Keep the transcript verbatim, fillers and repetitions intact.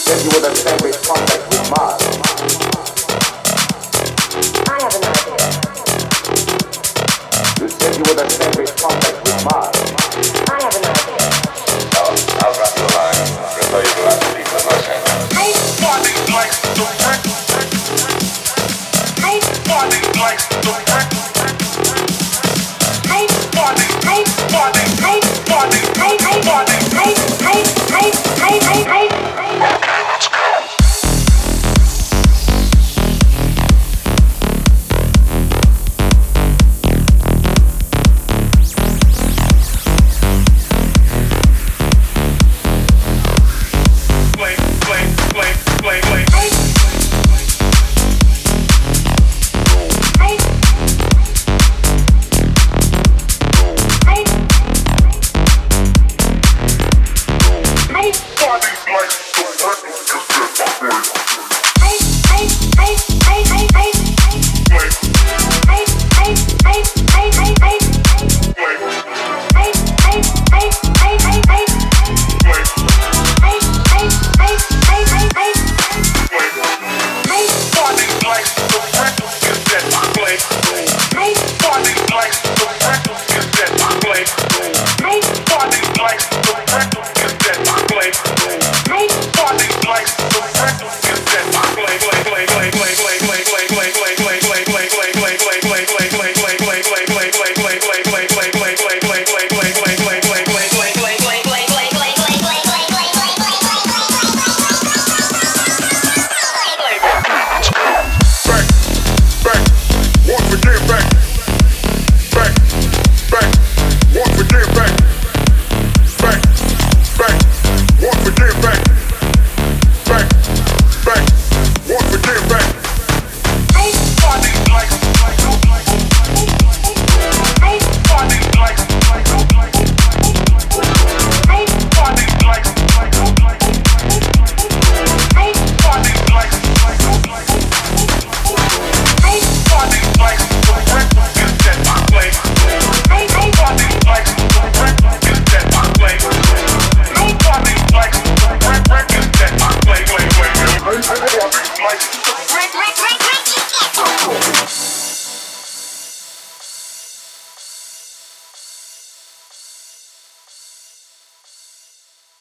said you were the same contact with Mars. I have an idea. You said you were the same contact with Mars. I have an idea. I'll, I'll drop you a line. Refer you to lots of people in Los Angeles. Nobody likes the wreck. Nobody likes the wreck. Nobody, nobody, nobody, nobody, nobody. Okay, let's go. Nobody likes